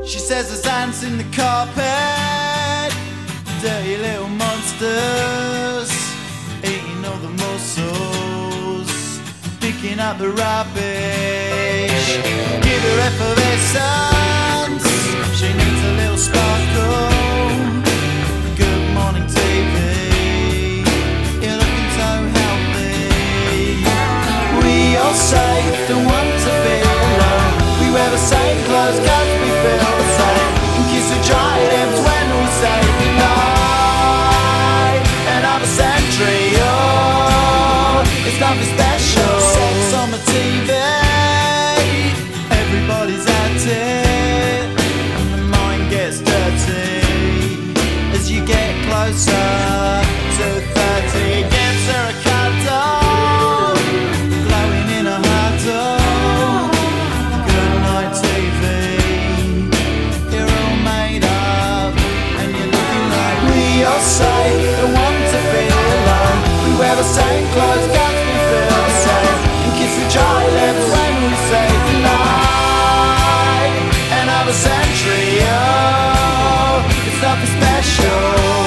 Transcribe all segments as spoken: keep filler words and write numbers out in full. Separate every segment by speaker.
Speaker 1: She says there's ants in the carpet, dirty little monsters, eating all the mussels, picking up the rubbish. Give her effervescence, she needs a little sparkle. Good morning T V, you're looking so healthy. We all say don't want to be alone. We wear the same clothes cause we feel the same, and kiss the dry lips when we say goodnight. Another century, oh, it's nothing special. Sex on the T V, everybody's at it, and the mind gets dirty as you get closer to thirty. Gives her a cuddle, glowing in a huddle. Good night T V, you're all made up, and you're looking like we all say don't want to be alone. We wear the same clothes cause we feel the same, and kiss the dry lips when we say goodnight. Another century, oh, it's nothing special.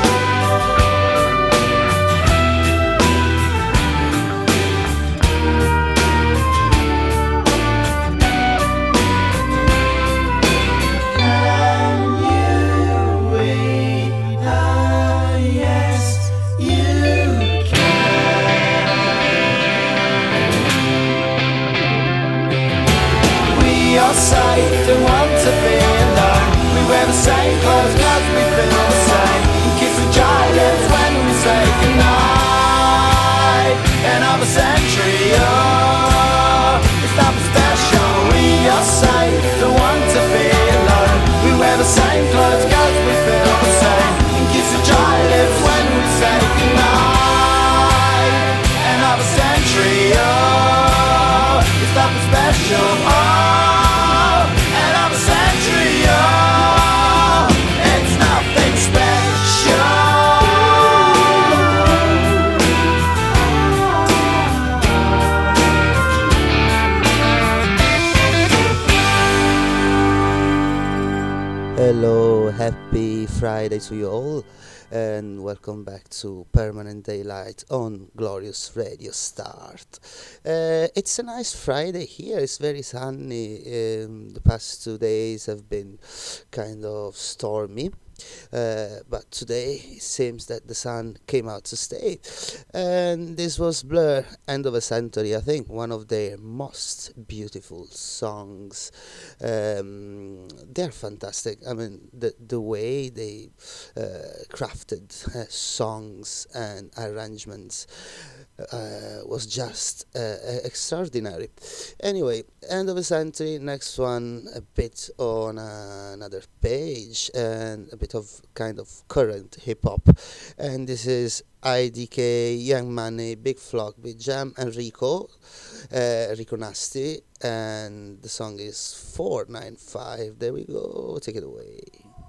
Speaker 1: Don't want to be alone. We wear the same clothes cause we feel the same, and kiss the dry lips when we say goodnight. Another century, oh, it's nothing special. We all say don't want to be alone. We wear the same clothes cause we feel the same, and kiss the dry lips when we say goodnight. Another century, oh, it's nothing special. Oh,
Speaker 2: hello, happy Friday to you all, and welcome back to Permanent Daylight on Glorious Radio Start. Uh, it's a nice Friday here, it's very sunny. Um, the past two days have been kind of stormy. Uh, but today it seems that the sun came out to stay, and this was Blur, End of a Century, I think one of their most beautiful songs. Um, they're fantastic. I mean, the the way they uh, crafted uh, songs and arrangements uh, was just uh, extraordinary. Anyway, End of a Century, next one a bit on uh, another page and a bit of kind of current hip-hop, and this is I D K, Young Money, Big Flock, Big Jam and Rico, uh, Rico Nasty, and the song is four nine five. There we go, take it away.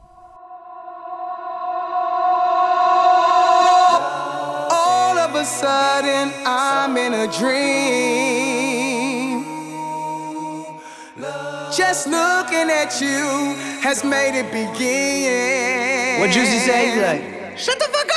Speaker 3: All of a sudden I'm in a dream. Just looking at you has made it begin.
Speaker 4: What Juicy say? He's like,
Speaker 3: shut the fuck up!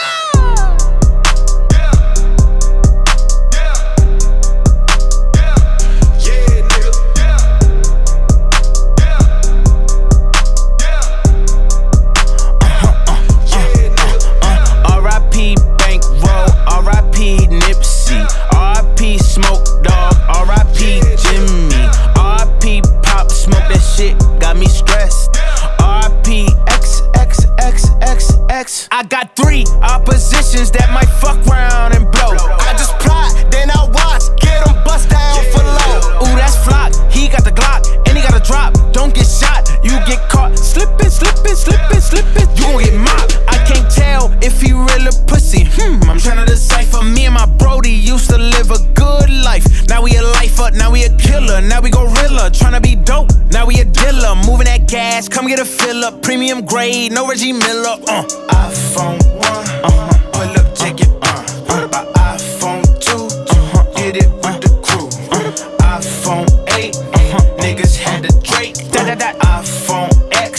Speaker 5: I got three oppositions that might fuck round and blow. I just plot, then I watch, get them bust down for low. Ooh, that's Flock, he got the Glock, and he got a drop. Don't get shot, you get caught slipping, slipping, slipping, slipping. You gon' get mopped. I can't tell if he really pussy. Hmm, I'm tryna decipher. Me and my Brody used to live a good life. Now we a lifer, now we a killer, now we gorilla. Tryna be dope, now we a dealer. Moving that gas, come get a fill up. Premium grade, no Reggie Miller. Uh, iPhone one, uh-huh. Pull up, take it, uh, uh. By iPhone two, uh-huh. Get it with the crew. Uh. iPhone eight, uh-huh. Niggas had the Drake. Da da da. iPhone X.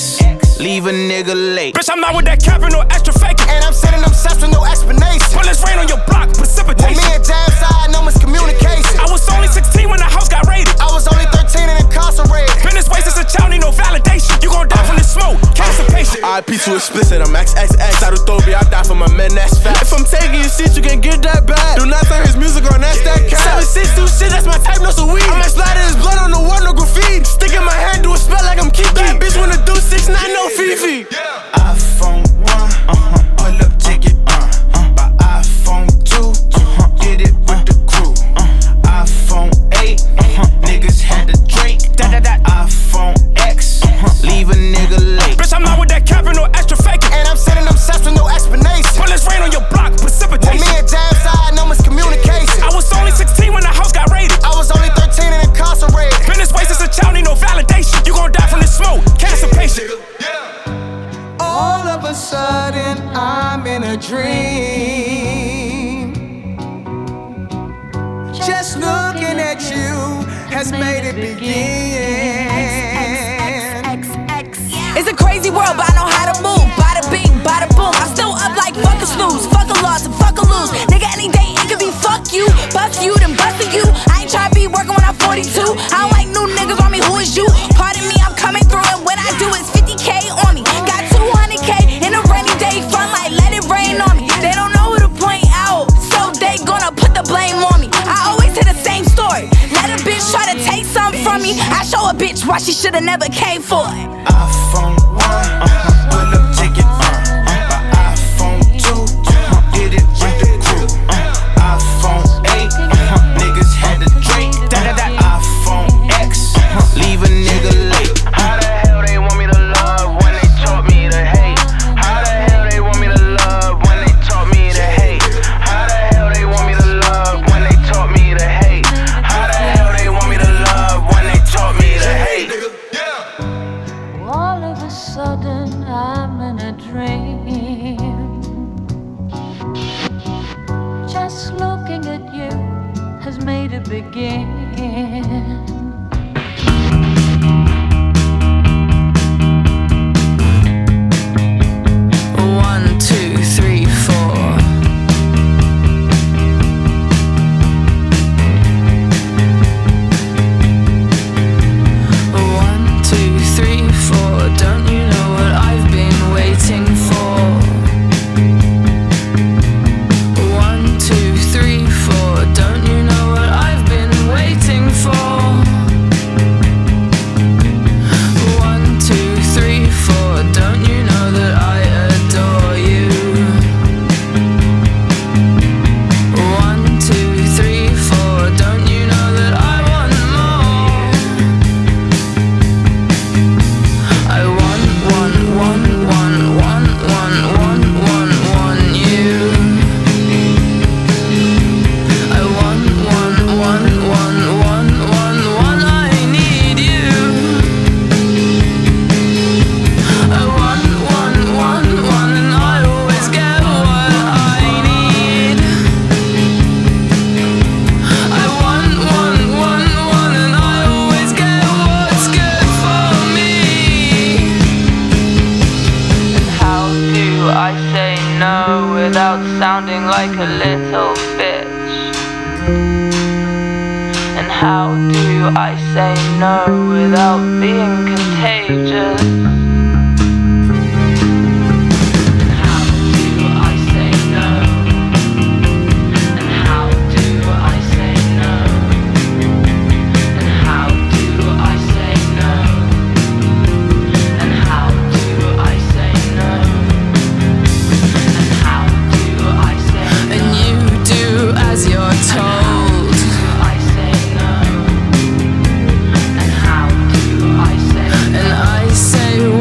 Speaker 5: capping, no extra faking.
Speaker 3: And I'm sending them shots with no explanation.
Speaker 5: Bullets rain on your block,
Speaker 3: When
Speaker 5: precipitation.
Speaker 3: me and Jam side, no miscommunication.
Speaker 5: I was only sixteen when the house got raided.
Speaker 3: I was only thirteen and incarcerated.
Speaker 5: Been this way since a child, need no validation. You gon' die from this smoke, constipation.
Speaker 4: I P too explicit, I'm X X X. Out of Thobi, I die for my men, that's fat. If I'm taking your shit, you can get that back. Do not turn his music on, that's that cat. seven six two shit, that's my type, no so weed. I might splatter his blood on the wall, no graffiti. Stick in my hand, do a spell like I'm Kiki. That bitch wanna do six nine, no Fifi.
Speaker 6: iPhone one, uh-huh, pull up ticket, uh, uh, by iPhone two, uh-huh, did it with the crew, uh, iPhone eight, uh-huh, niggas had to drink,
Speaker 5: Da, da, da.
Speaker 6: iPhone X, uh-huh, leave a nigga late.
Speaker 5: Bitch, I'm not with that capping, no extra faking.
Speaker 3: And I'm sending them shots with no explanation.
Speaker 5: Bullets rain on your block,
Speaker 3: When
Speaker 5: precipitation.
Speaker 3: me and Jam side, no miscommunication.
Speaker 5: I was only sixteen when the house got raided.
Speaker 3: I was only thirteen and incarcerated.
Speaker 5: Been this way since a child, need no validation. You gon' die from this smoke, constipation.
Speaker 3: All of a sudden, I'm in a dream. Just looking at you has made it begin.
Speaker 7: It's a crazy world, but I know how to move. Bada bing, bada boom. I'm still up like fuck a snooze, fuck a loss and fuck a lose. Nigga, any day it could be fuck you, bust you, then busting you. I ain't tryna be working when I'm forty-two. I don't like new niggas on me. Who is you? Pardon me, I'm coming through, and when I do, it's fifty K on me. Got two hundred K in a rainy day front, like let it rain on me. They don't know who to point out, so they gonna put the blame on me. I always hear the same story. Let a bitch try to take something from me. I show a bitch why she shoulda never came for it.
Speaker 6: iPhone one, uh-huh, pull up ticket, uh, uh, by iPhone two, uh-huh, did it with the crew, uh, iPhone eight, uh-huh, niggas had to drink,
Speaker 5: Da, da, da.
Speaker 6: iPhone X, uh-huh, leave a nigga late. How the hell they want me to love when they taught me to hate? How the hell they want me to love when they taught me to hate? How the hell they want me to love when they taught me to hate? How the hell they want me to love when they taught me to hate?
Speaker 8: All of a sudden I'm in a dream. Just looking at you has made it begin.
Speaker 7: One, two, three, four. One, two, three, four. Don't you know what I've been waiting for? One, two, three, four. Don't you know what I've been waiting for? One, two, three, four. Don't you know that I adore you? One, two, three, four. Don't you know that I want more? I want, want, want, want, want, want, want, want, want you. I want, want, want, want, want, want, want, I need you. I want, want, want, want, and I always get what I need. I want, want, want, want, and I always get what's good for me. And how do I say no without sounding like a little bitch? And how do I say no without being contagious? How do I say no? And how do I say no? And how do I say no? And how do I say no? And how do I say no? And you do as you're told. I say no. And how do I say no? And I say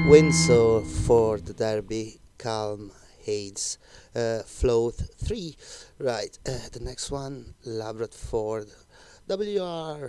Speaker 2: Windsor, Ford, Derby, Calm, Hades, uh, Float three. Right, uh, the next one, Labrador Ford, W R.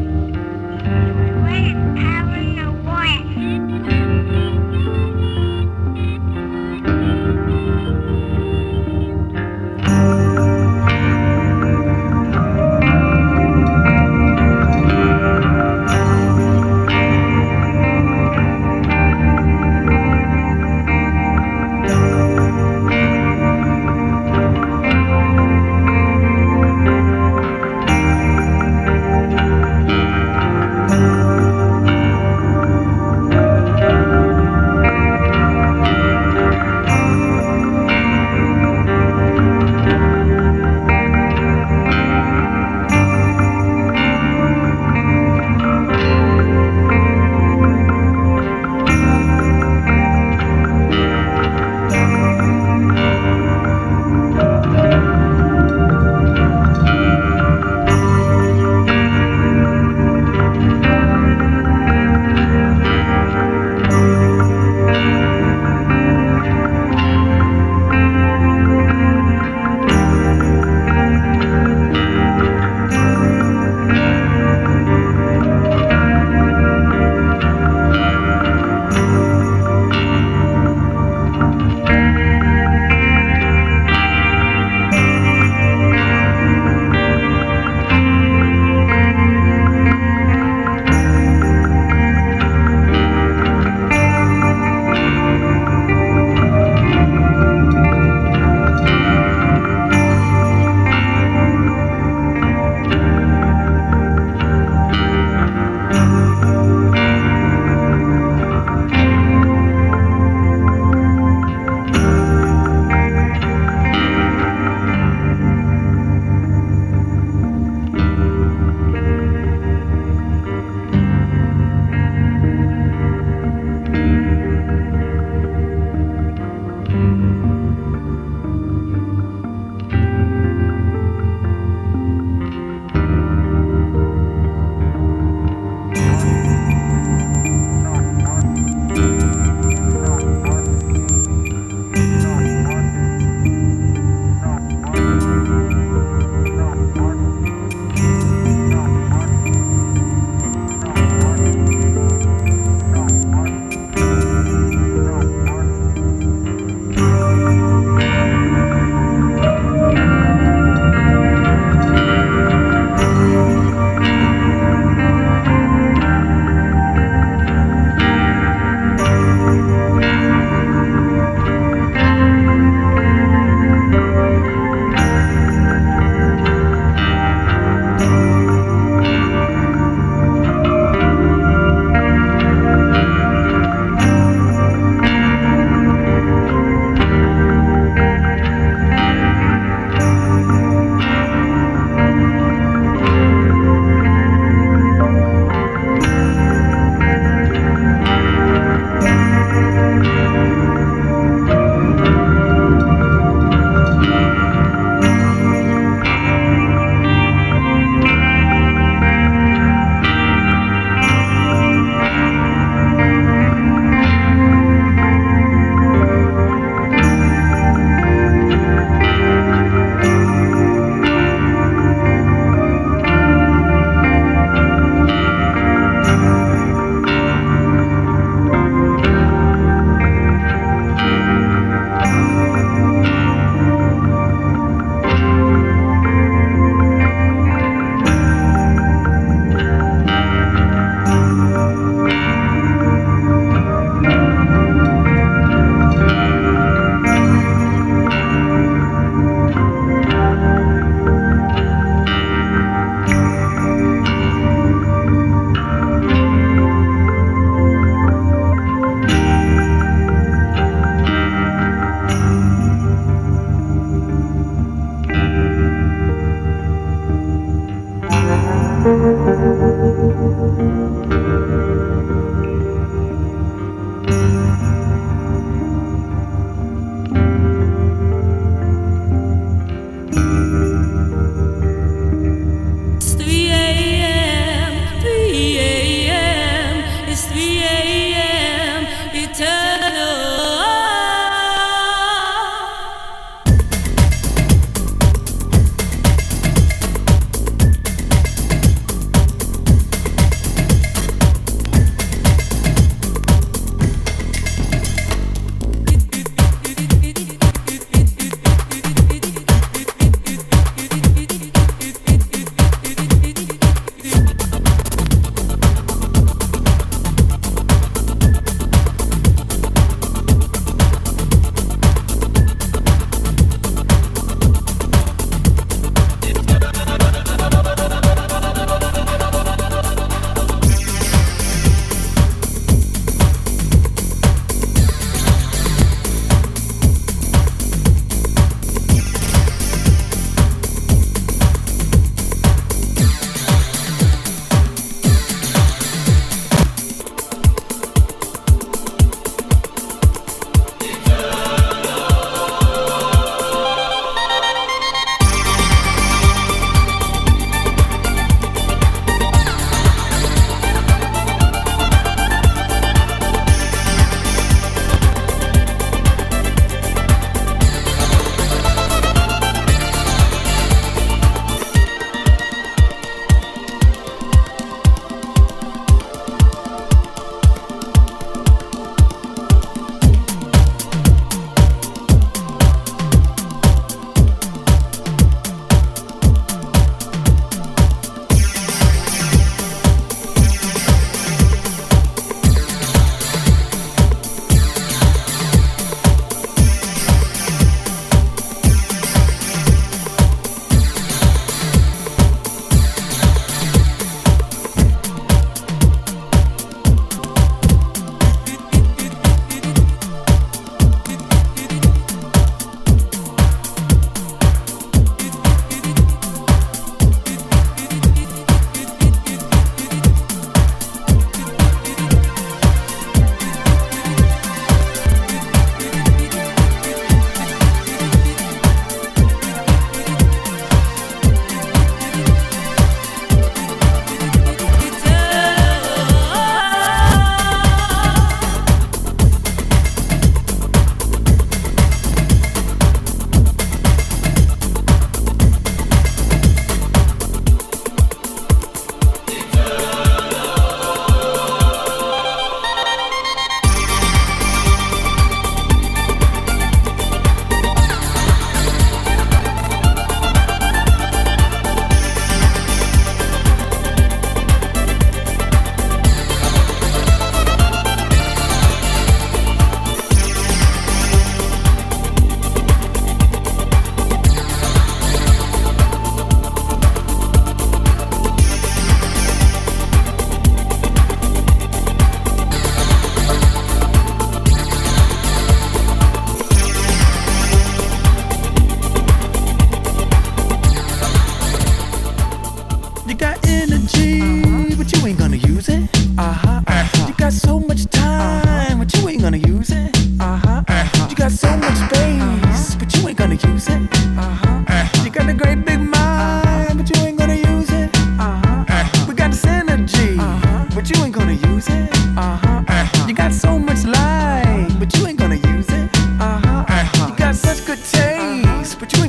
Speaker 9: Thank you.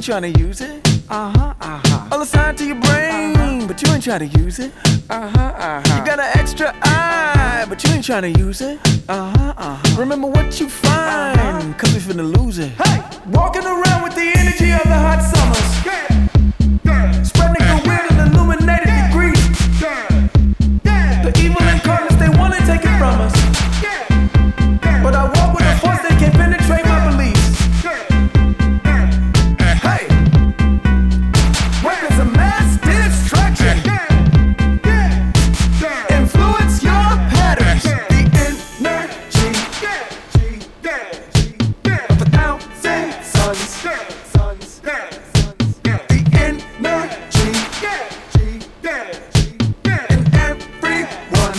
Speaker 9: trying to use it. Uh-huh, uh-huh. All assigned to your brain, uh-huh. But you ain't trying to use it. Uh-huh, uh-huh. You got an extra eye, but you ain't trying to use it. Uh-huh, uh-huh. Remember what you find, uh-huh. Cause we finna lose it. Hey! Walking around with the energy of the hot summers. Yeah. Yeah. Spreading goodwill and illuminated degrees. Yeah. Yeah. The evil incarnates, they wanna take it from us. Yeah. But I walk with a force that can't penetrate my beliefs. Hey! Weapons of mass destruction. Influence your patterns. The energy of a thousand suns. The energy in everyone.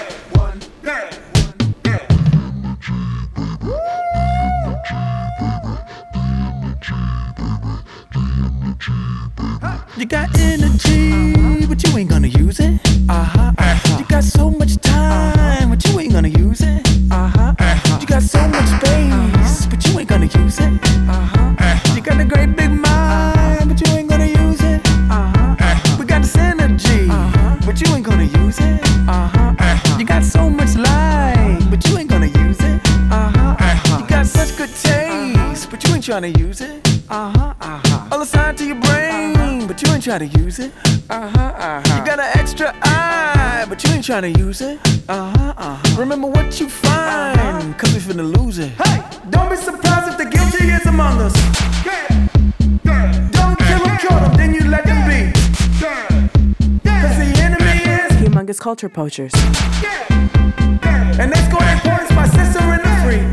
Speaker 9: You got energy, but you ain't gonna use it. Uh-huh, uh-huh. You got so much time, but you ain't gonna use it. Uh-huh, uh-huh. You got so much space, but you ain't gonna use it. Uh-huh, uh-huh. You got a great big mind, but you ain't gonna use it. Uh-huh, uh-huh. We got this energy, uh-huh. But you ain't gonna use it. Uh-huh, uh-huh. You got so much light, but you ain't gonna use it. Uh-huh, uh-huh. You got such good taste, but you ain't trying to use it. Uh-huh, uh-huh. All assigned to your brain, uh-huh. But you ain't trying to use it. Uh-huh, uh-huh. You got an extra eye, but you ain't trying to use it. Uh-huh, uh-huh. Remember what you find, uh-huh. Cause we finna lose it. Hey! Don't be surprised if the guilty is among us. Yeah. Yeah. Don't kill them, kill them, then you let them be. Yeah. Yeah. Cause the enemy is
Speaker 10: Humongous Culture Poachers.
Speaker 9: Yeah. Yeah. And they score their points by sister in the free.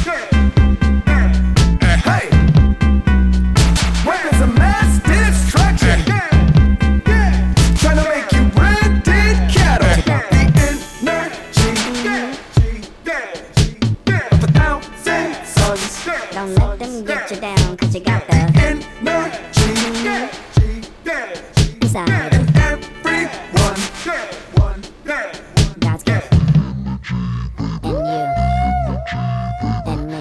Speaker 9: Hey! Weapons of mass destruction. Trying to make you rented cattle. The energy of a thousand suns.
Speaker 11: Don't let them get you down, cause you got the
Speaker 9: energy
Speaker 11: inside
Speaker 9: in everyone.
Speaker 11: God's gift. And you. And me.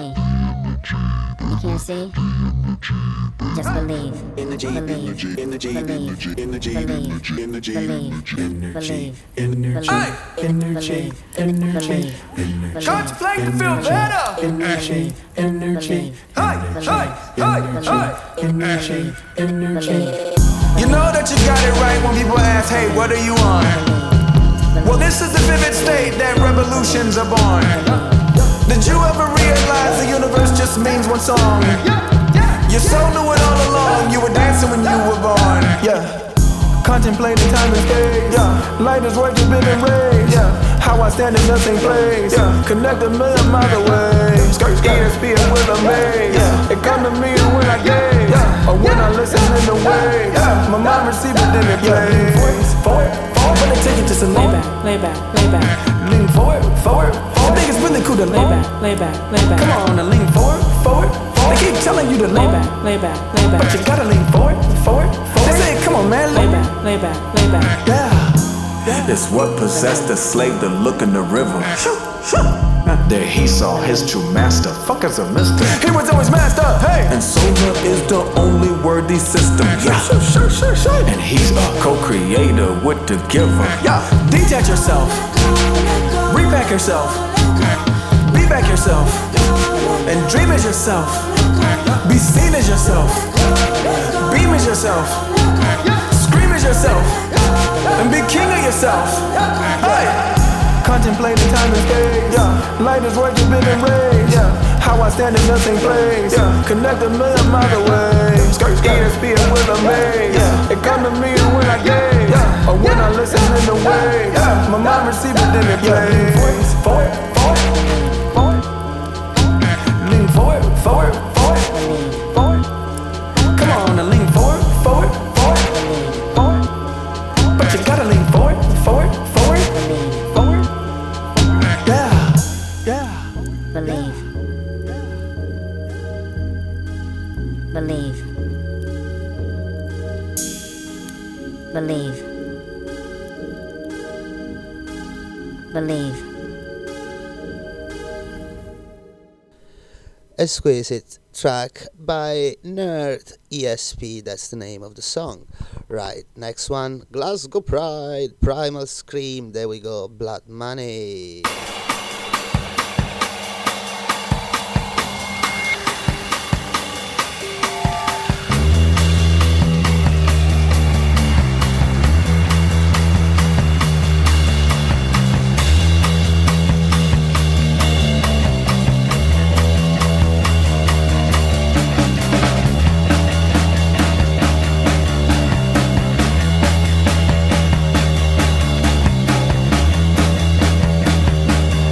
Speaker 11: You can't see? Just believe.
Speaker 12: Energy,
Speaker 11: Believe.
Speaker 12: energy,
Speaker 11: Believe.
Speaker 12: energy,
Speaker 11: Believe.
Speaker 12: energy,
Speaker 11: Believe.
Speaker 12: energy,
Speaker 11: Believe.
Speaker 9: Hey!
Speaker 11: Energy. Energy.
Speaker 9: Contemplate to feel better.
Speaker 11: Energy. Energy.
Speaker 9: Hey! Hey! Hey! Hey!
Speaker 11: Energy. Energy.
Speaker 9: You know that you got it right when people ask, hey, what are you on? Well, this is the vivid state that revolutions are born. Did you ever realize the universe just means one song? Your soul knew it all along, you were dancing when you were born. Yeah. Contemplating time and space. Yeah. Light is right to big and rays. Yeah. How I stand in nothing place. Yeah. Connect a million miles away. E S P and will amaze. Yeah. It come to me when I gaze. Yeah. Or when I listen in the waves. Yeah. My mind receives it, then it plays. Forward, forward, when they take it just a
Speaker 10: Lay back, lay back, lay back.
Speaker 9: Lean forward, forward, forward. I think it's really cool to
Speaker 10: lay back, lay back, lay back.
Speaker 9: Come on, and lean forward, forward, forward. They keep telling you to
Speaker 10: lay back, lay back, lay back.
Speaker 9: But you gotta lean forward, forward, forward. They say, come on, man,
Speaker 10: lay back, lay back, lay back.
Speaker 9: Yeah.
Speaker 13: It's what possessed the slave to look in the river. There he saw his true master. Fuckers are mister.
Speaker 9: He was always master, hey!
Speaker 13: And solar is the only worthy system. Yeah.
Speaker 9: Sure, sure, sure, sure.
Speaker 13: And he's a co-creator with the giver.
Speaker 9: Yeah. Detach yourself. Repack yourself. Be back yourself. And dream as yourself. Be seen as yourself. Beam as yourself. Scream as yourself. And be king of yourself. Hey! Contemplating time and space. Yeah. Light is right to big and rays. Yeah. How I stand in nothing place. Yeah. Connect a million miles away. E S P and will amaze. Yeah. It come to me when I gaze. Yeah. Or when I listen in the waves. Yeah. My mind receives it, then it plays. Forward, forward, forward. Lean forward, forward, forward, forward. Come on and lean forward, forward, forward, forward. But you gotta lean forward, forward, forward, forward. Yeah, yeah.
Speaker 11: Believe. Believe. Believe. Believe.
Speaker 2: exquisite track by Nerd E S P, that's the name of the song. Right, next one, Glasgow Pride, Primal Scream, there we go, Blood Money.
Speaker 12: Thank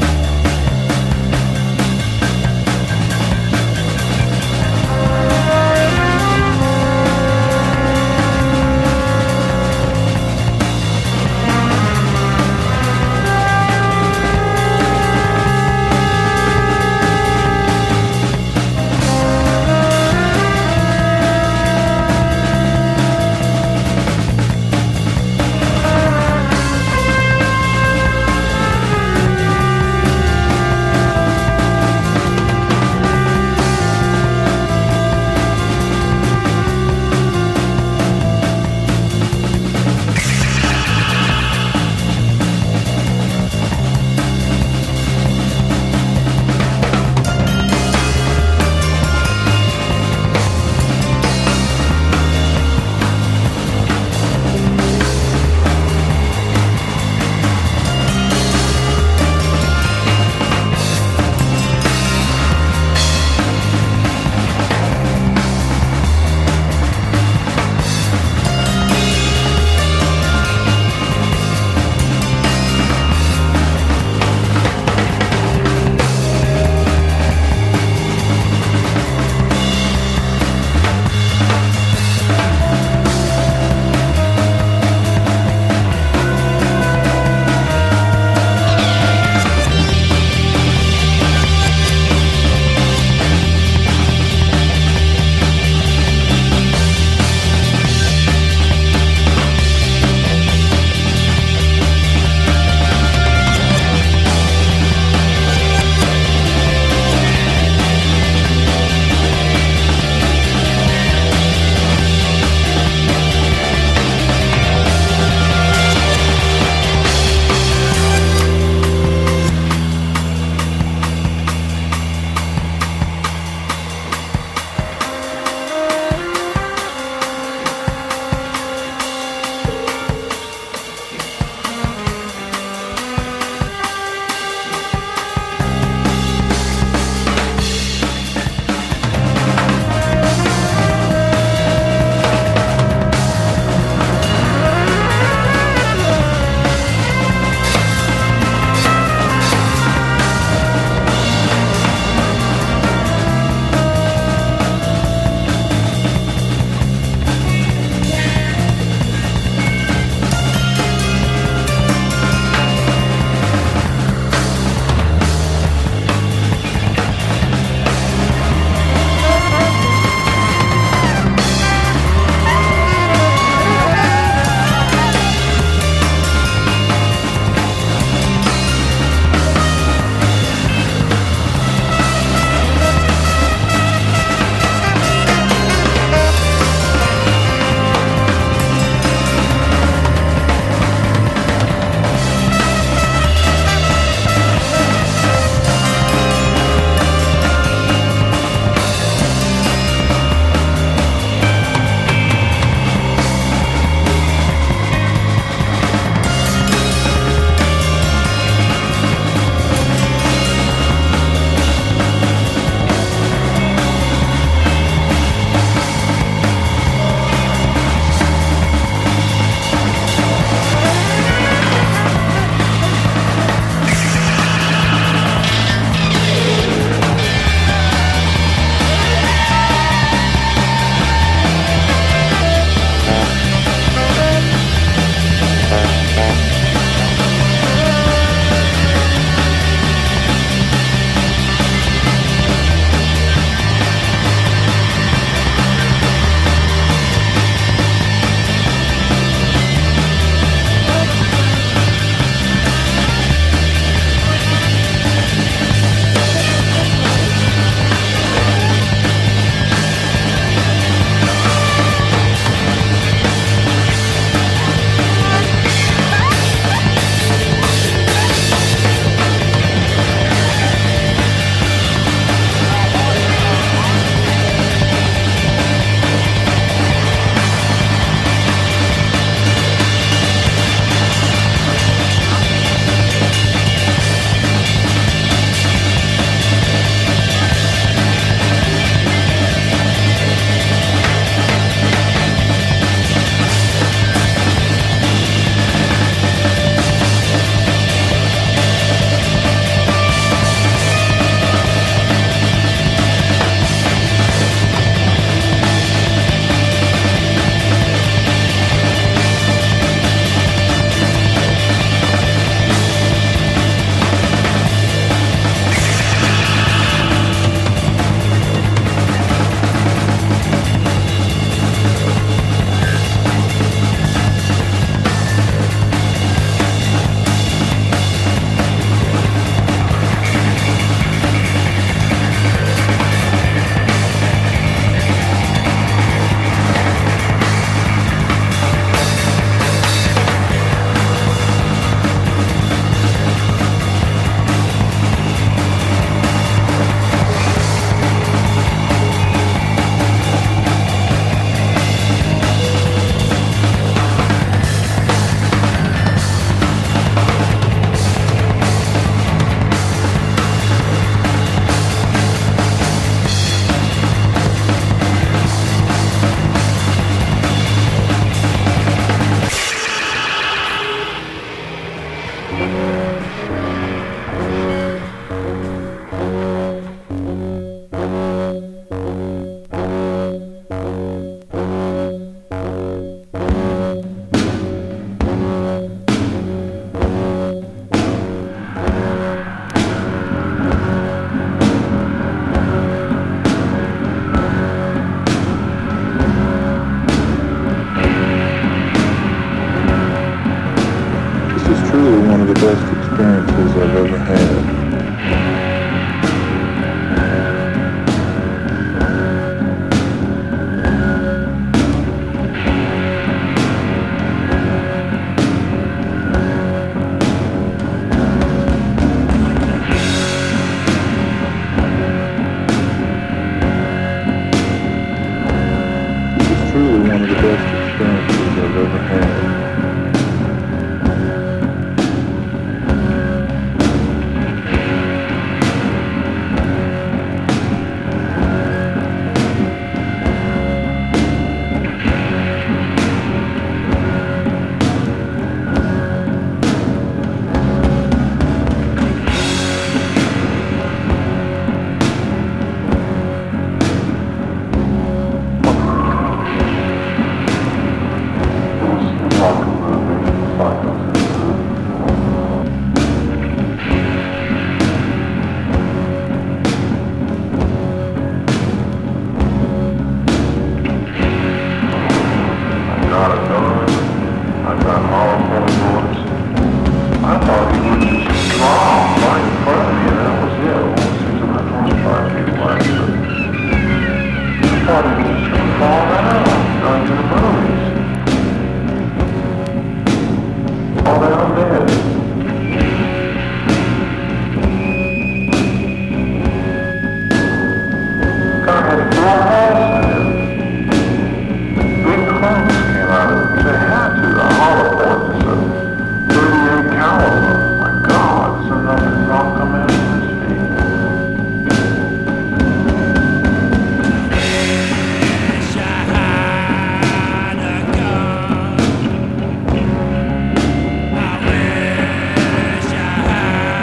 Speaker 12: of the best experiences I've ever had.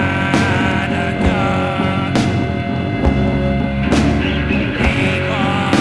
Speaker 14: People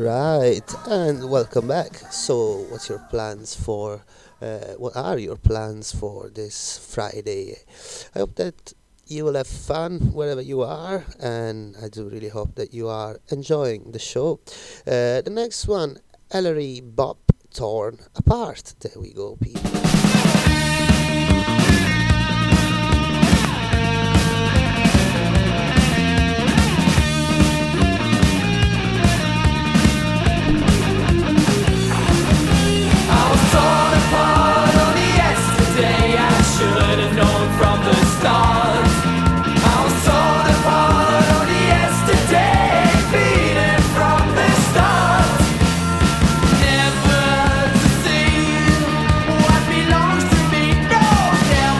Speaker 2: Right, and welcome back. So, what's your plans for? Uh, what are your plans for this Friday? I hope that you will have fun wherever you are, and I do really hope that you are enjoying the show. Uh, the next one, Ellery Bop Torn Apart. There we go, people.
Speaker 14: Torn apart only yesterday, I should have known from the start. I was torn apart only yesterday, beaten from the start. Never to see what belongs to me, no, never.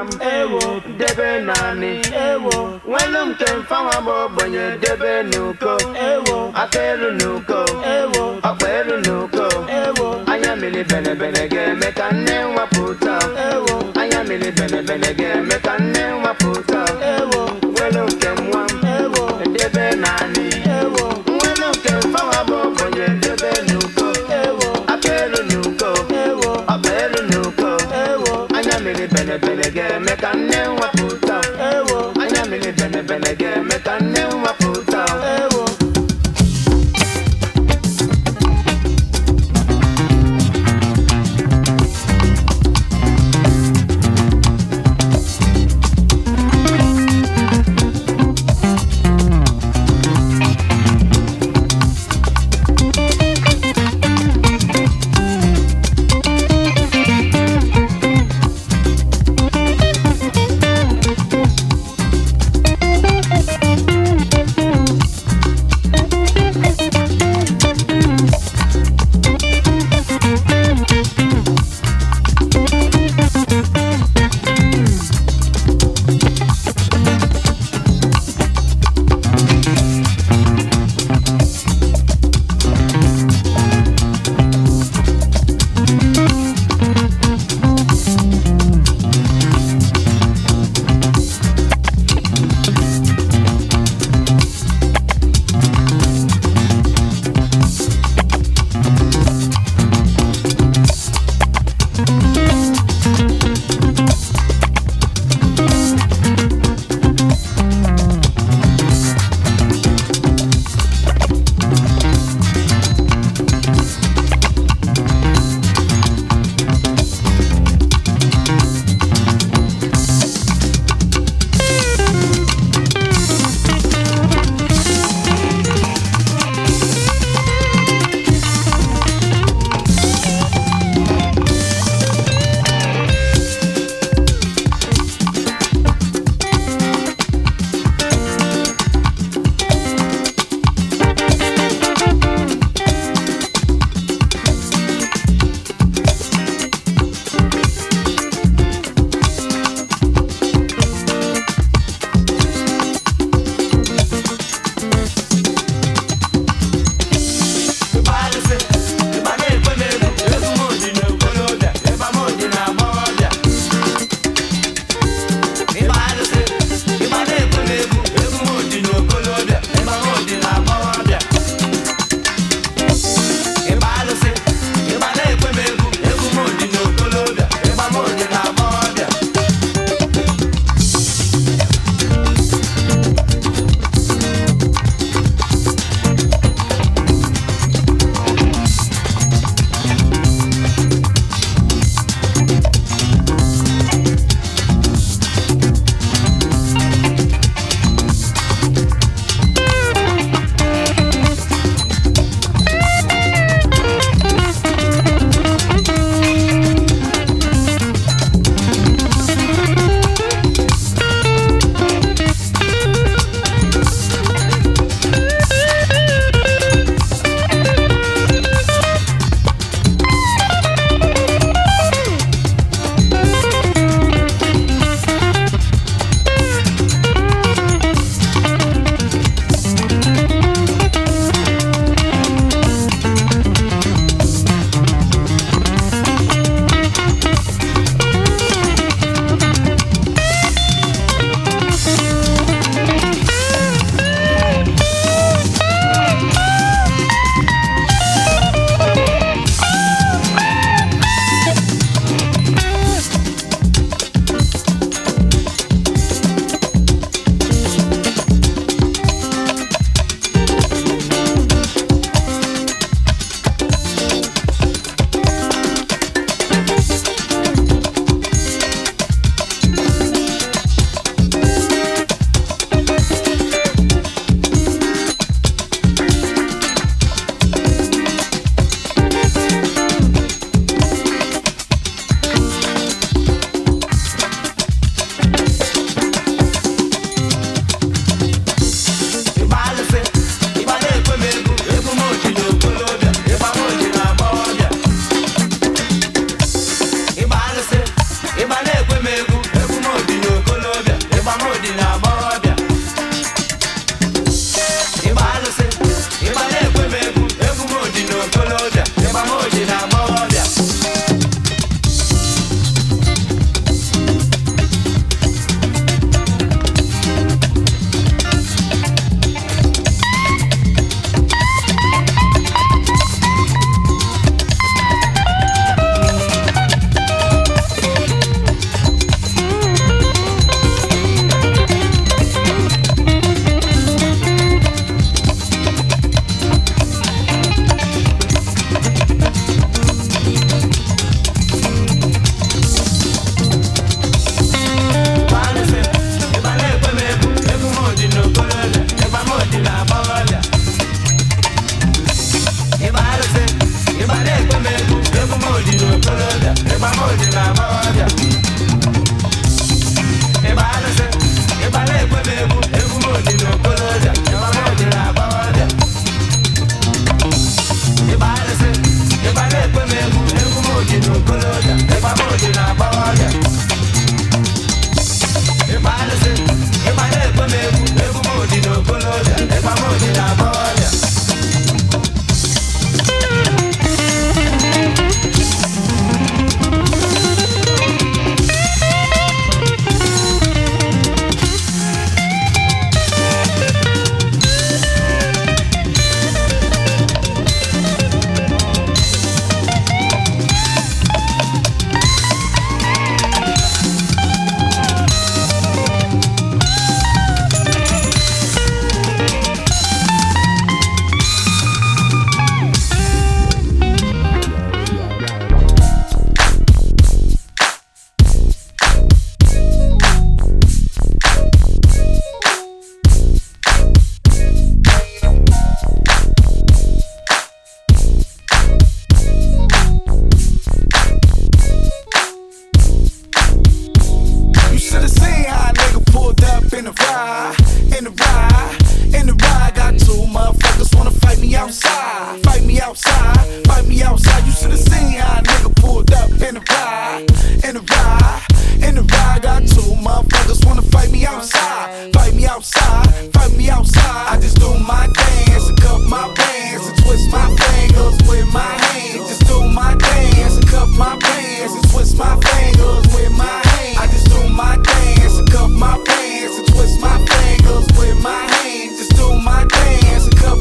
Speaker 6: nwam ewo debe nani ewo nwelum kem fawa bo bonye debe nuko ewo akelu nuko ewo akelu nuko ewo anya mili bene bene ge meka nne waputa ewo anya mili bene bene ge meka nne waputa ewo nwelum kem nwam ewo debe nani ewo nwelum kem fawa bo bonye debe nuko ewo akelu nuko ewo akelu nuko ewo anya mili bene bene ge meka nne waputa ewo anya mili bene bene ge meka nne waputa ewo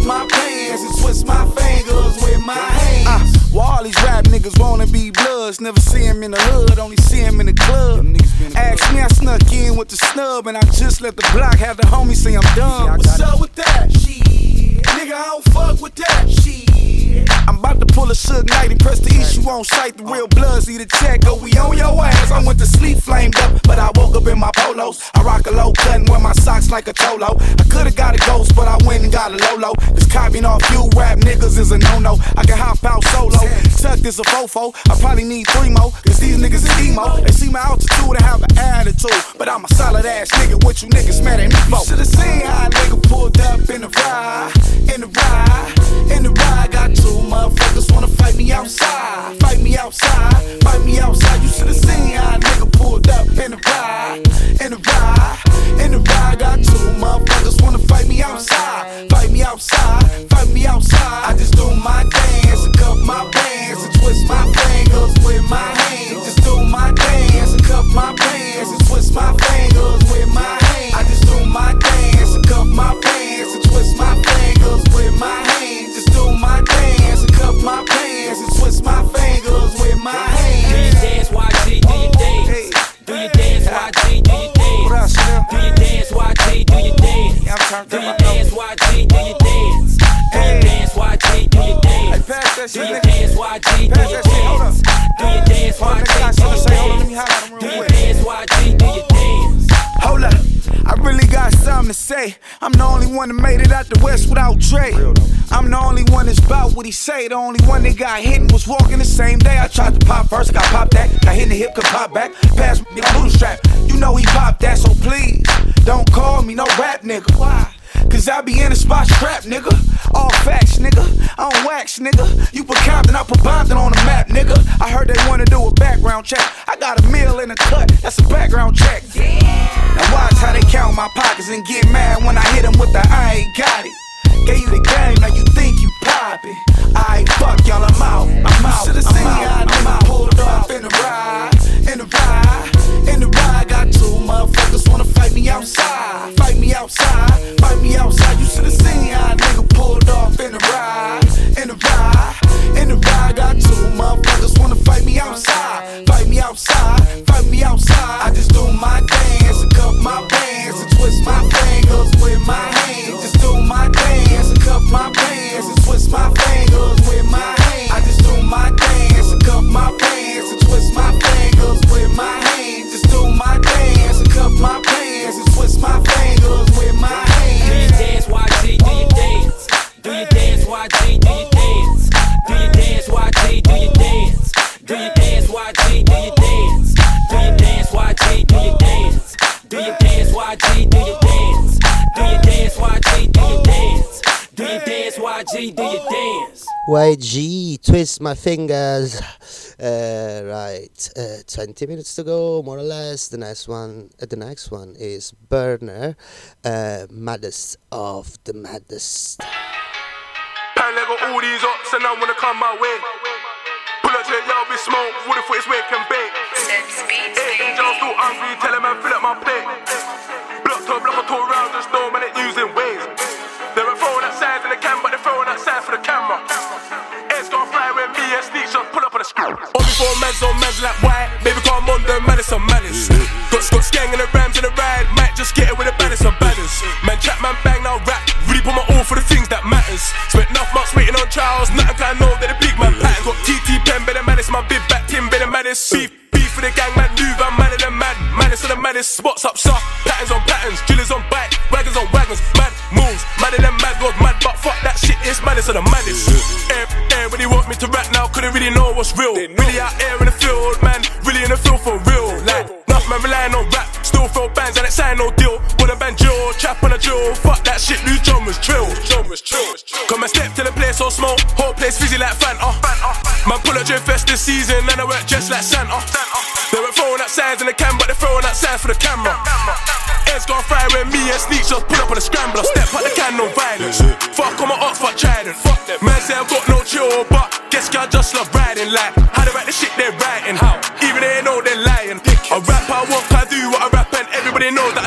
Speaker 15: cuff my pants and twist my fingers with my hands. Uh, well, all these rap niggas wanna be bloods, never see him in the hood, only see him in the club. Ask me, I snuck in with the snub, and I just let the block have the homies say I'm dumb. What's up with that? Shit, nigga, I don't fuck with that. Shit. I'm about to pull a Suge Knight and press the issue on sight. The real bloods need a check, go, we on your ass. I went to sleep flamed up, but I woke up in my polos. I rock a low cut and wear my socks like a cholo. I could've got a ghost, but I went and got a Lolo. This copying off you rap niggas is a no-no. I can hop out solo, tucked is a fofo. I probably need three more, cause these niggas is emo. They see my altitude and have an attitude, but I'm a solid ass nigga, what you niggas mad at me for? You should've seen how a nigga pulled up in the ride, in the ride, in the ride. Got two motherfuckers wanna fight me outside, fight me outside, fight me outside. You should've seen how a nigga pulled up in the ride, in the ride, in the ride. Got two motherfuckers wanna fight me outside, fight me outside, fight me outside. I just do my dance and cuff my pants and twist my fingers with my hands. Just do my dance and cuff my pants and twist my fingers with my hands. I just do my dance and cuff my pants and twist my fingers with my hands. Just do my dance and cuff my pants and twist my fingers with my hands.
Speaker 16: Do your dance, Y G, do your dance. Do your dance, Y G, do your dance. Do your dance, Y G, do your dance. Do your dance, Y G, do your dance. Do your dance, Y G, do your dance. Do your dance, Y G, do your dance. Do your dance, Y G, do your dance. Do your dance, Y G, do your dance.
Speaker 15: Hold up, I really got something to say. I'm the only one that made it out the West without Dre. I'm the only one that's about what he say. The only one that got hit and was walking the same day. I tried to pop first, got popped that. Got hit in the hip, could pop back. Pass me the blue strap. You know he popped that, so please don't call me no rap nigga. Why? Cause I be in the spot strapped, nigga. All facts, nigga. I don't wax, nigga. You put Compton, I put Bompton on the map, nigga. I heard they wanna do a background check. I got a meal in a cut, that's a background check. Now watch how they count my pockets and get mad when I hit them with the I ain't got it. Gave you the game, now you think you poppin'. Aight, fuck y'all, I'm out, I'm out. Should've seen how nigga pulled off in the ride, in the ride, in the ride. Got two motherfuckers wanna fight me outside, fight me outside, fight me outside. You should've seen how nigga pulled off in the ride, in the ride, in the ride. Got two motherfuckers wanna fight me outside, fight me outside, fight me outside. I just do my dance and cuff my pants and twist my fingers with my hands. Just do my dance and cuff my pants and twist my fingers with my hands. I just do my dance and cuff my pants and twist my fingers with my hands. Just do my dance and cuff my pants and twist my fingers with my hands.
Speaker 16: Do your dance, Y G, do your dance. Do your dance, Y G, do your dance. Do your dance, Y G, do your dance. Do your dance, Y G, do your dance. Do your dance, Y G, do your dance. Do your dance, Y G, do your dance. Do your dance, Y G, do your dance. Do your dance, Y G, do your dance.
Speaker 2: Y G, twist my fingers. Uh, right, uh, twenty minutes to go, more or less. The next one, uh, the next one is Burner, uh, maddest of the maddest.
Speaker 4: Pan Lego all these ups and I wanna come my way. Pull up to the yard, be smoke, wood for his wake and bake. Hey, John's still hungry, tell him I fill up my plate. Block to block, I tour around, just know man, it using ways. They were throwing that signs in the cam, but they're throwing that sign for the camera. It's gonna fly with me and sneak shots, pull up on the screen. All before man's on man's like white, baby come on the man, it's some manners. Got Scott Skang and the Rams in the ride, might just get it with the baddest of badders. Man chat, man bang, now rap, really put my all for the things that matters. Spent enough months waiting on trials, nothing can I know that the big man pattern. Got T T Pen, better man, it's my big back Tim, better man, it's beef. Beef for the gang, man, move, I'm madder than mad. Man, it's the maddest spots up, sir. Patterns on patterns, drillers on bike, wagons on wagons, mad moves, madder than mad, was mad, but fuck that shit, it's maddest of the maddest. Air, everybody want me to rap now, couldn't really know what's real. Really out here in the field, man, really in the field for real. Like, enough man relying on rap, still throw bands and it sign no deal. With a banjo, trap on a drill, fuck that shit, new genres trill. Come and step to the place so small, whole place fizzy like Fanta. Man pull a drift fest this season and I work just like Santa. They were throwing up signs in the cam, but they're throwing up signs for the camera. Heads gone fry with me and sneak shots, pull up on the scrambler. Step out the can, no violence. Fuck on my Oxford Trident. Man say I've got no chill, but guess I just love riding. Like, how they write the shit they're writing. How? Even they know they're lying. I rap, I walk, I do what I rap, and everybody knows that I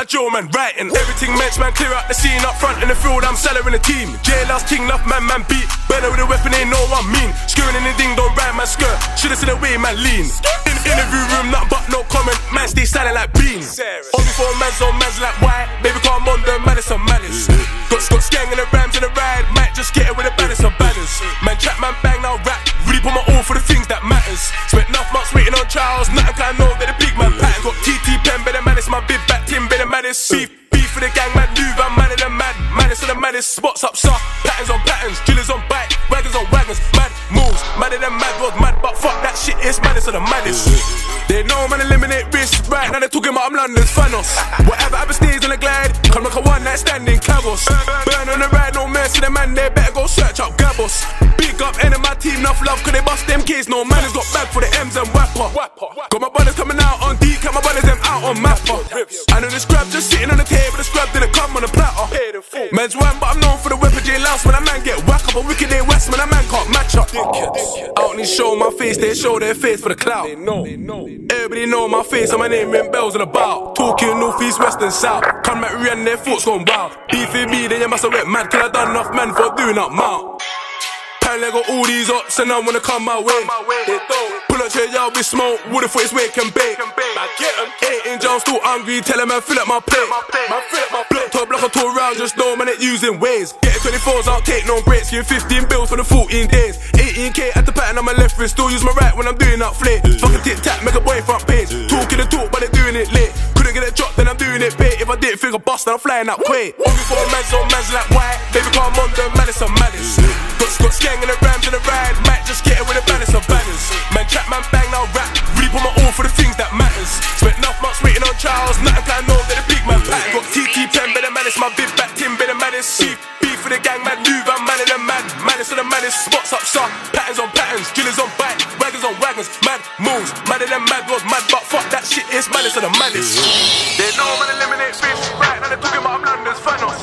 Speaker 4: Joe man writing. Everything men's man clear out the scene up front in the field. I'm selling the team. J last king enough man man beat. Better with a weapon ain't no one mean. Skewing in the ding don't ride my skirt. Shoulda seen the way man lean. In interview room nothing but no comment. Man stay silent like beans. Only for man's on man's like why? Baby come on the madness on madness. Got got skang in the rams in the ride. Might just get it with the baddest of baddest. Man trap man bang now rap. Really put my all for the things that matters. Spent enough months waiting on trials. Nothing can I know that the big man pattern. Got T T pen better man. It's my big back team better man. It's beef beef for the gang man. Move I'm mad at the mad. Maddest of the maddest. Spots up soft. Patterns on patterns. Killers on bike. Wagons on wagons. Mad moves. Madder than mad was mad. But fuck that shit. It's maddest of the maddest. They know man eliminate risk. Right now they're talking about I'm London's Thanos. Whatever happens stays on the glide. Come like a one night stand in Cabos. Burn on the ride. No mercy the man. They better go search up Gabos. Big up end of my team. Enough love. Cause they bust them kids. No man has got back for the M's and Wapper. Got my brothers coming out on D. Got my brothers them out on Mapper. I know the scrub just sitting on the table. The scrub didn't come on the platter. Man's one but I'm known for the weapon J Lance. When a man get whack up a wicked day west. Man a man can't match up. Out and show my face. They show their face for the clout. Everybody know my face and my name ring bells in the bout. Talking north, east, west and south. Come back re and their thoughts gone wild. Beefing me then you must have went mad. Cause I done enough man for doing up mount. Apparently I got all these ups and I wanna come my way. They don't. Pull up to y'all with smoke. Would've thought it's wake and bake. I get em. Eight in jail, still hungry. Tell them man fill up my plate. Man fill up my plate. Top block a tour round, just know man it using ways. Get twenty-fours, I'll take no breaks. Give fifteen bills for the fourteen days. eighteen K at the pattern on my left wrist. Still use my right when I'm doing that flick. Fucking tic tac, make a boy front page. Talking the talk, but they doing it late. Couldn't get a drop, then I'm doing it bait. If I didn't think a bust, then I'm flying out quick. Only for a man's on man's like white. Baby come on the maddest of maddest. Got got skang in the rams in the ride. Might just get it with a balance of banners. Man trap man bang now rap. Really put my all for the things that matters. Spent enough months waiting on trials. Nothing can I know that the big man pattern. Got T T pen better man. It's my big back team better man. It's beef beef for the gang man. Move I'm mad at the mad. Maddest of the maddest. Spots up soft. Patterns on patterns. Killers on bike. Wagons on wagons. Mad moves. Madder than mad was mad. But fuck that shit. It's maddest of the maddest. They know man eliminate fish. Right now they're talking about I'm London's Thanos.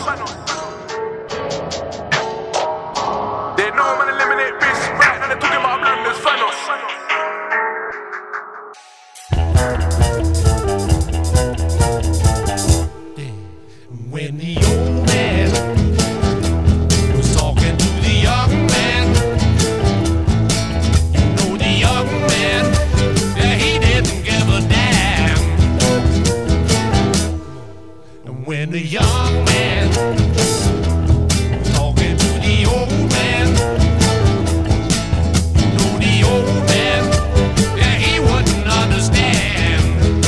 Speaker 4: They know man eliminate fish. Right now they're talking about I'm London's Thanos.
Speaker 14: When the old man was talking to the young man, you know the young man, yeah, he didn't give a damn. And when the young man was talking to the old man, you know the old man, yeah, he wouldn't understand.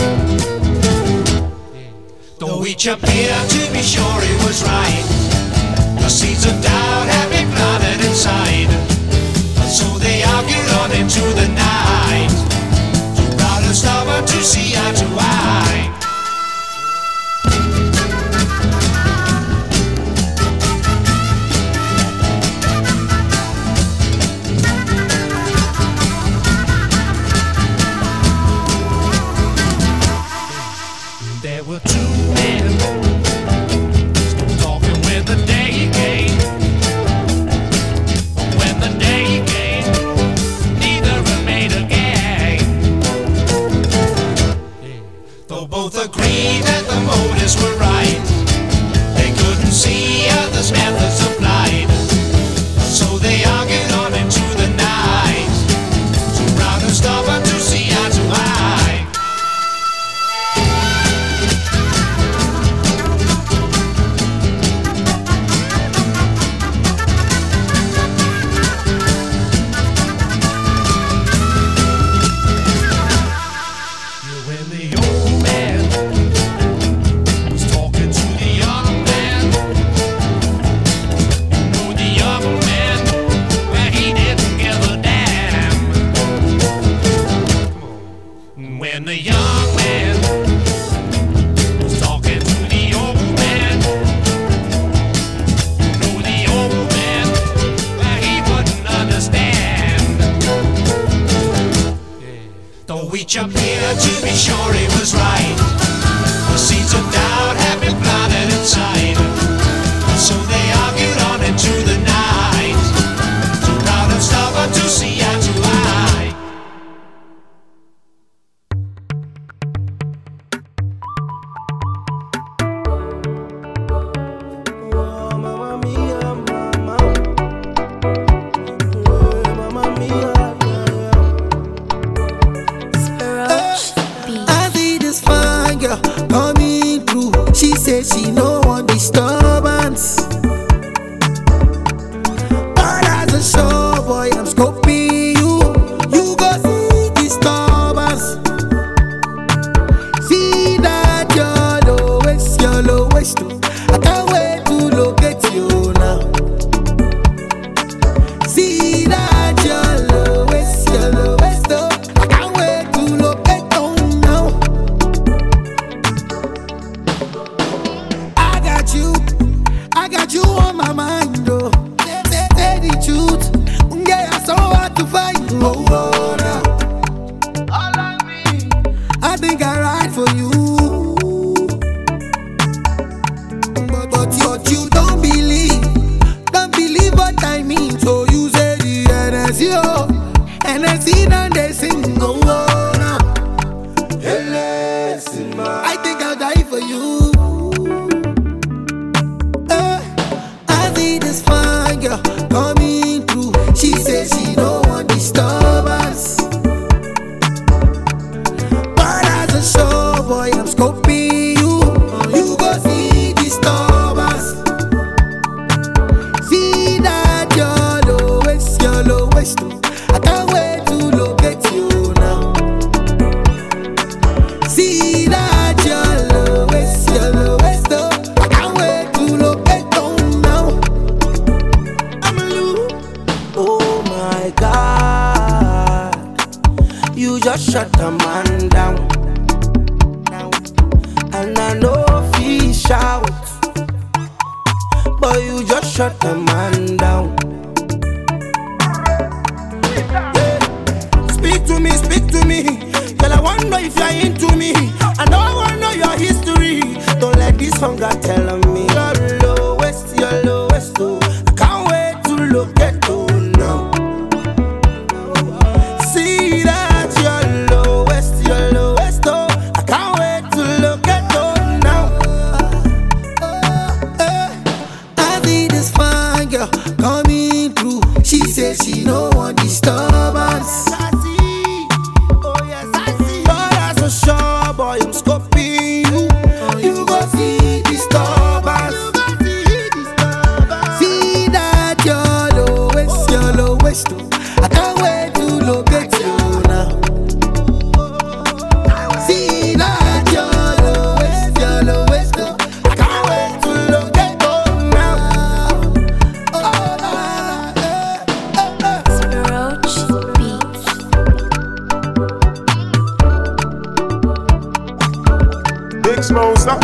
Speaker 14: Though each appeared to be sure he was right, the seeds of doubt had been planted inside. And so they argued on into the night, too proud and stubborn to see eye to eye. There were two men talking when the day came. When the day came, neither remained again. Though both agreed that the motives were right, they couldn't see others' methods applied. So they argued on into the night, too proud and stubborn to see eye to eye. When the old man was talking to the young man, you know the young man, well, he didn't give a damn. When the young man was talking to the old man, you know the old man, well, he wouldn't understand. Though each appeared to be sure he was right, the seeds of doubt had been planted inside. And so they argued on into the night, too proud and stubborn to see eye to eye.
Speaker 17: shut the man down. And I know he shout, but you just shut the man down. Speak to me, speak to me. Girl, I wonder if you're into me. I know I wanna know your history. Don't let this hunger tell on me. You're lowest, you're lowest, oh. I can't wait to look at you now. See that you're lowest, you're lowest, oh. I can't wait to look at you now. I see this fine girl coming through. She said she no want disturbance. Sure, boy, I'm scoping you. You go see disturbance. See that you're lowest, you're lowest. I can't wait to locate you now. See that you're lowest, you're lowest. I can't wait to locate you now.
Speaker 18: Spiroach Beats.
Speaker 4: Big Smosa.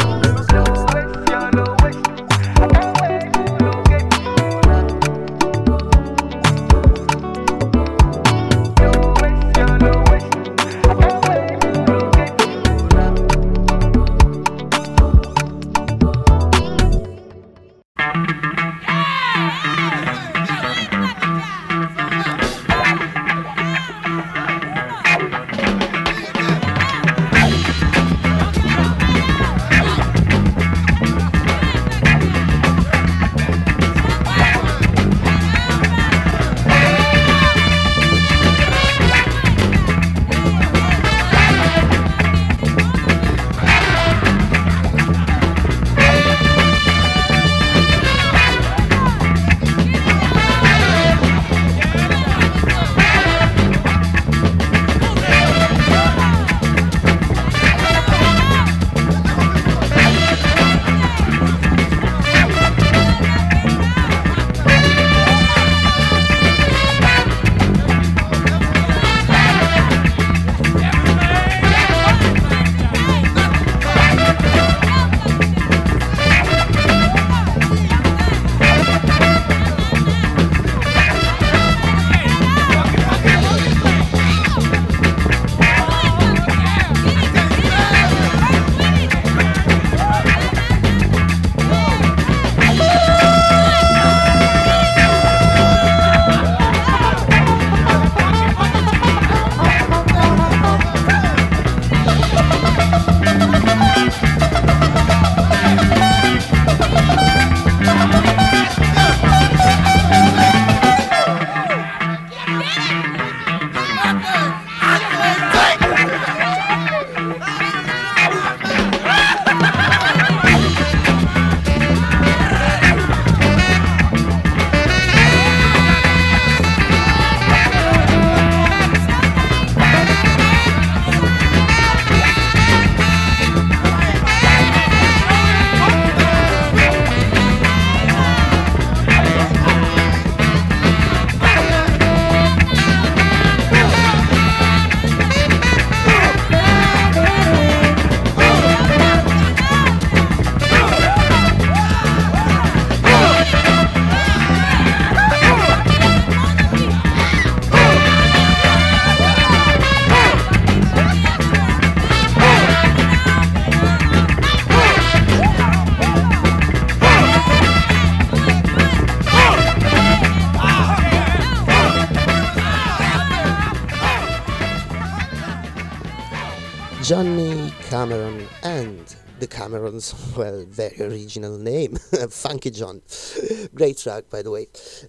Speaker 2: Johnny Cameron and the Camerons, well, very original name, Funky John. Great track, by the way.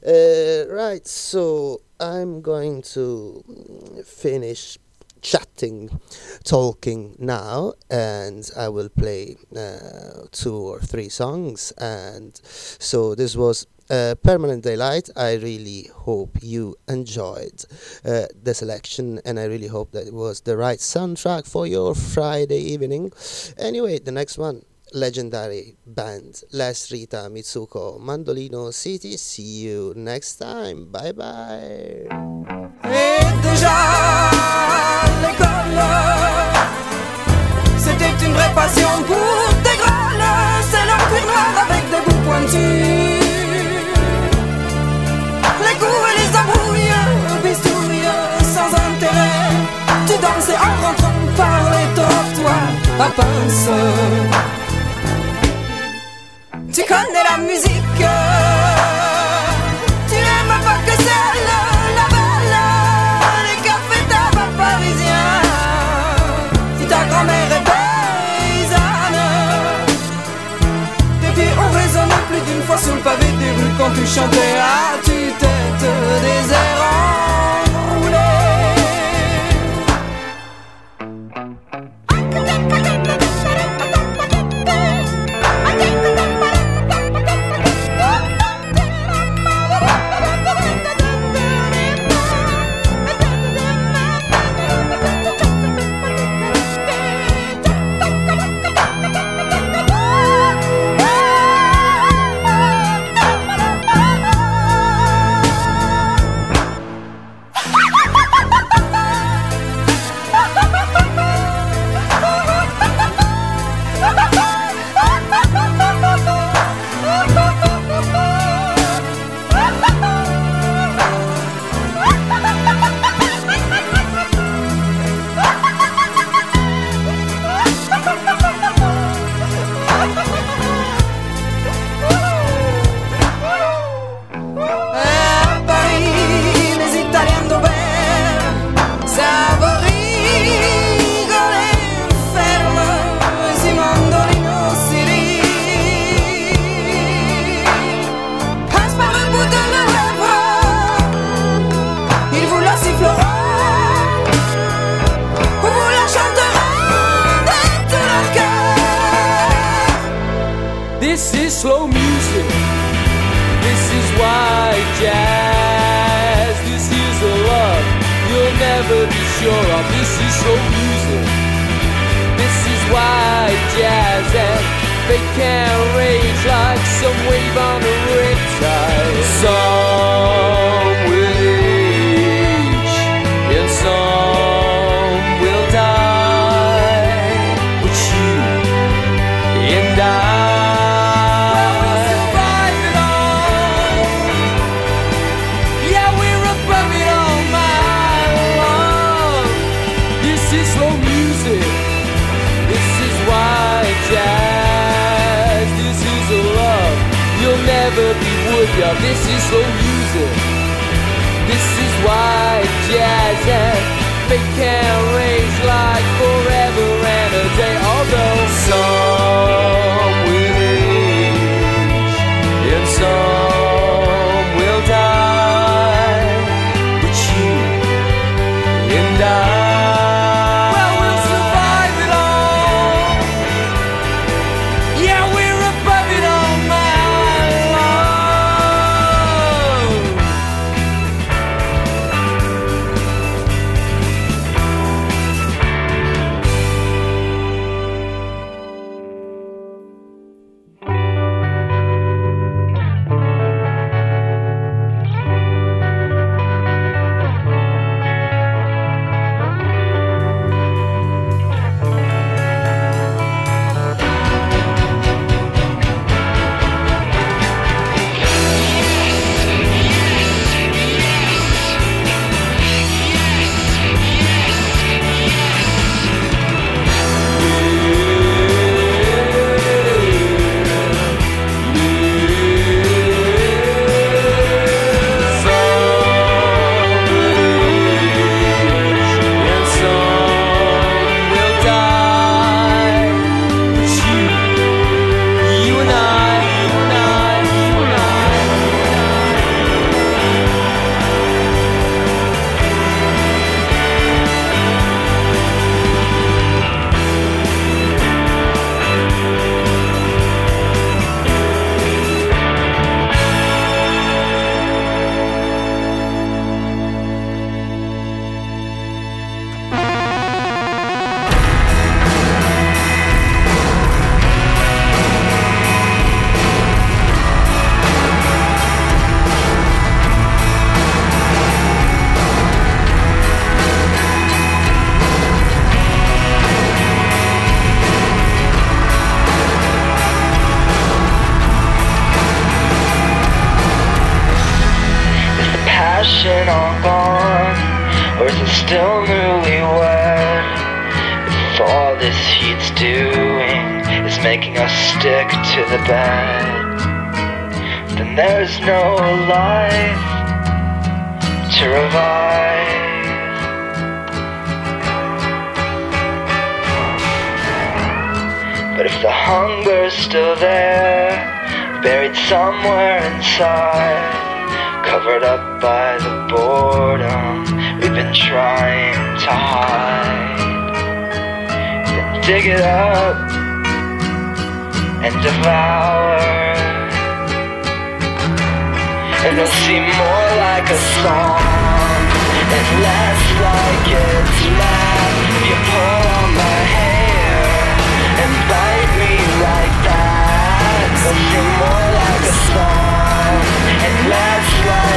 Speaker 2: Uh, right, so I'm going to finish chatting, talking now, and I will play uh, two or three songs. And so this was uh, Permanent Daylight. I really hope you enjoyed uh, the selection, and I really hope that it was the right soundtrack for your Friday evening. Anyway, the next one, legendary band Les Rita Mitsuko, Mandolino City. See you next time. Bye bye.
Speaker 3: Hey,
Speaker 18: une vraie passion pour tes grâles. C'est leur cuir noir avec des bouts pointus. Les coups et les embrouilles, bistouilles sans intérêt. Tu dansais en rentrant par les trottoirs à pince. Tu connais la musique, tu n'aimes pas que celle, la belle, les cafés tabac parisiens. Si ta grand-mère est paysanne, tes pieds ont résonné plus d'une fois sur le pavé des rues quand tu chantais à tue-tête des airs enroulés.
Speaker 14: This is slow music. This is white jazz. This is a love you'll never be sure of. This is slow music. This is white jazz, and they can't rage like some wave on a riptide. Some will age, and some will die. But you and I. Never be would of. This is slow music. This is white jazz, and they can't range like forever and a day. Although some will age and some will die, but you and I.
Speaker 6: passion all gone? Or is it still newlywed? If all this heat's doing is making us stick to the bed, then there's no life to revive. But if the hunger's still there, buried somewhere inside, covered up by the boredom we've been trying to hide, then dig it up and devour, and it'll seem more like a song and less like it's math. You pull on my hair and bite me like that. It'll seem more like a song and less like